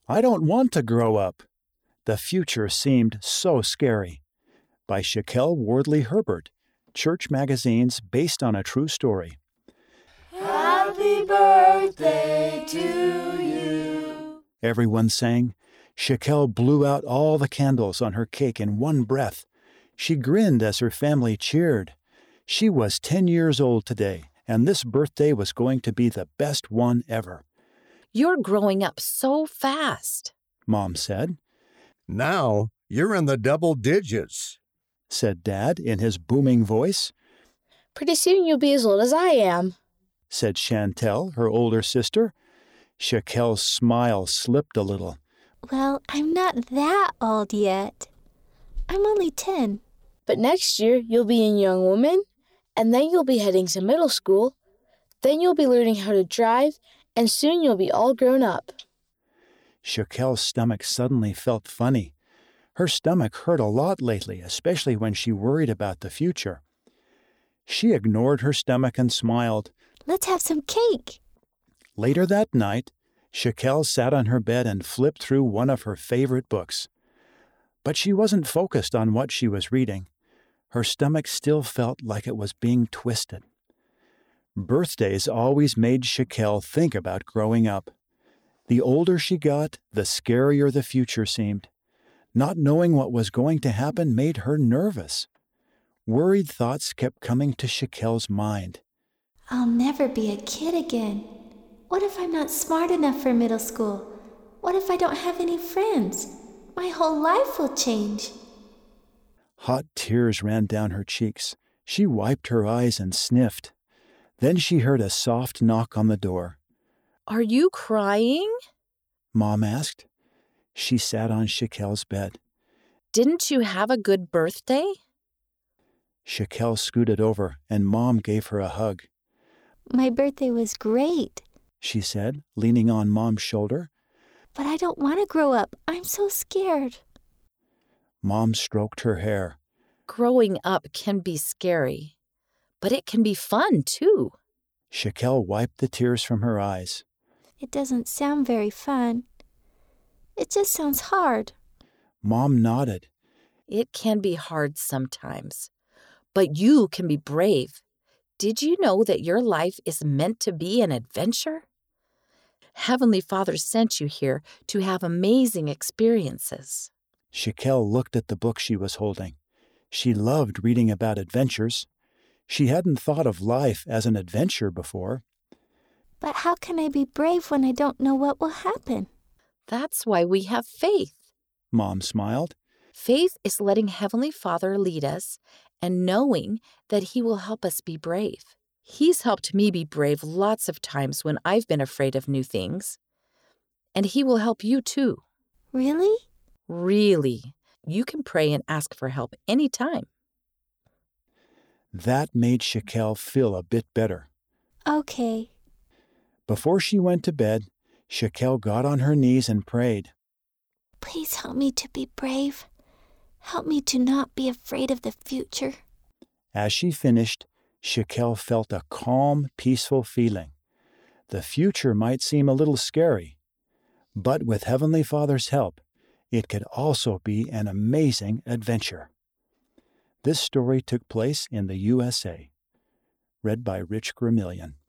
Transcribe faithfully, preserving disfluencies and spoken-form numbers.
I don't want to grow up. The future seemed so scary. By Shaquille Wardley Herbert, Church Magazine's based on a true story. Happy birthday to you. Everyone sang. Shaquille blew out all the candles on her cake in one breath. She grinned as her family cheered. She was ten years old today, and this birthday was going to be the best one ever. You're growing up so fast, Mom said. Now you're in the double digits, said Dad in his booming voice. Pretty soon you'll be as old as I am, said Chantel, her older sister. Shaquille's smile slipped a little. Well, I'm not that old yet. I'm only ten. But next year you'll be a young woman, and then you'll be heading to middle school. Then you'll be learning how to drive, and soon you'll be all grown up. Shaquille's stomach suddenly felt funny. Her stomach hurt a lot lately, especially when she worried about the future. She ignored her stomach and smiled. Let's have some cake. Later that night, Shaquille sat on her bed and flipped through one of her favorite books. But she wasn't focused on what she was reading. Her stomach still felt like it was being twisted. Birthdays always made Shaquille think about growing up. The older she got, the scarier the future seemed. Not knowing what was going to happen made her nervous. Worried thoughts kept coming to Shaquille's mind. I'll never be a kid again. What if I'm not smart enough for middle school? What if I don't have any friends? My whole life will change. Hot tears ran down her cheeks. She wiped her eyes and sniffed. Then she heard a soft knock on the door. Are you crying? Mom asked. She sat on Shaquille's bed. Didn't you have a good birthday? Shaquille scooted over, and Mom gave her a hug. My birthday was great, she said, leaning on Mom's shoulder. But I don't want to grow up. I'm so scared. Mom stroked her hair. Growing up can be scary, but it can be fun, too. Shaquille wiped the tears from her eyes. It doesn't sound very fun. It just sounds hard. Mom nodded. It can be hard sometimes, but you can be brave. Did you know that your life is meant to be an adventure? Heavenly Father sent you here to have amazing experiences. Shaquille looked at the book she was holding. She loved reading about adventures. She hadn't thought of life as an adventure before. But how can I be brave when I don't know what will happen? That's why we have faith. Mom smiled. Faith is letting Heavenly Father lead us and knowing that He will help us be brave. He's helped me be brave lots of times when I've been afraid of new things. And He will help you too. Really? Really. You can pray and ask for help anytime. That made Shaquille feel a bit better. Okay. Before she went to bed, Shaquille got on her knees and prayed. Please help me to be brave. Help me to not be afraid of the future. As she finished, Shaquille felt a calm, peaceful feeling. The future might seem a little scary, but with Heavenly Father's help, it could also be an amazing adventure. This story took place in the U S A. Read by Rich Gramillion.